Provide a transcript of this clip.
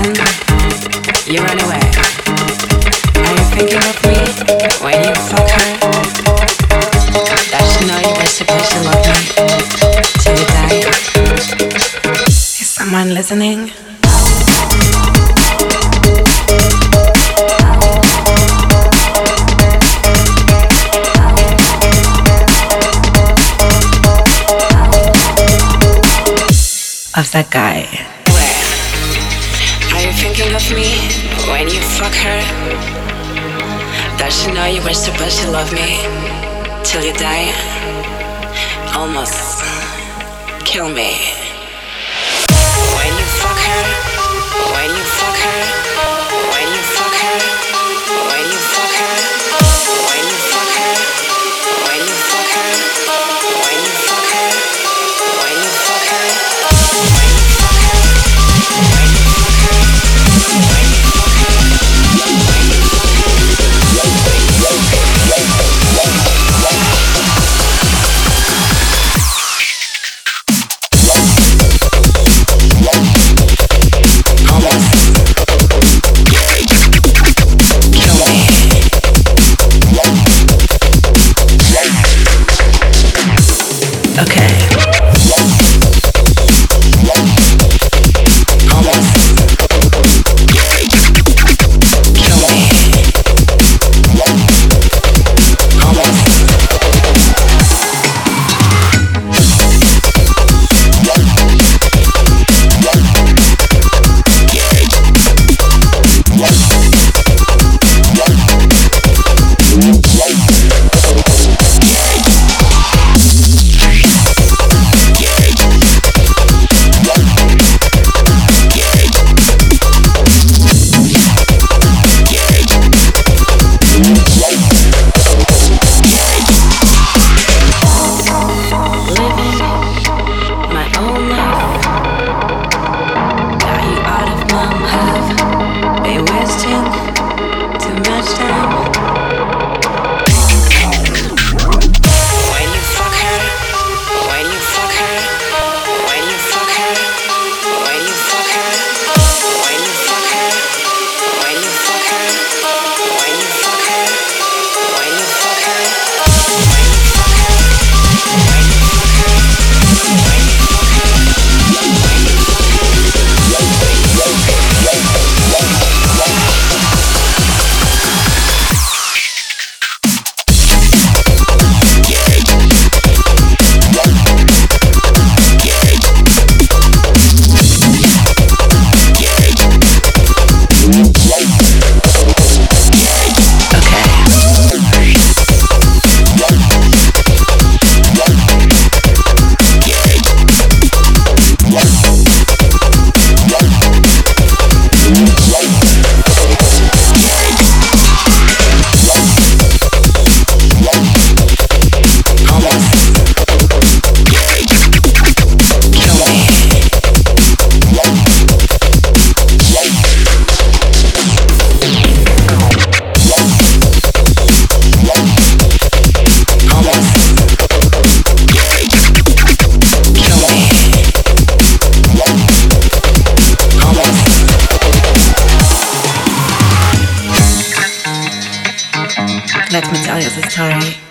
then you run away. Are you thinking of me when you fuck her? Does she know you were supposed to love me till you die? Is someone listening? Of that guy. Where? Are you thinking of me when you fuck her? Does she know you were supposed to love me till you die? Almost kill me. When you fuck her, when you fuck her, when you fuck her, when you fuck her, when you fuck her, when you fuck her, when you fuck her, when you fuck her. Let me tell you the story.